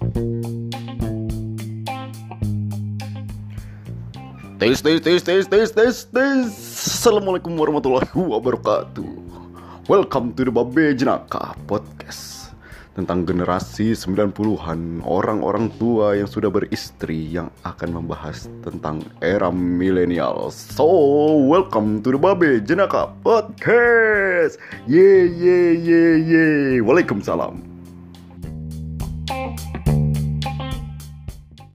Tes. Assalamualaikum warahmatullahi wabarakatuh. Welcome to the Babe Jenaka Podcast. Tentang generasi 90-an, orang-orang tua yang sudah beristri, yang akan membahas tentang era milenial. So, welcome to the Babe Jenaka Podcast. Ye. Waalaikumsalam.